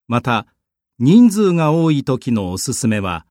また、人数が多い時のおすすめは、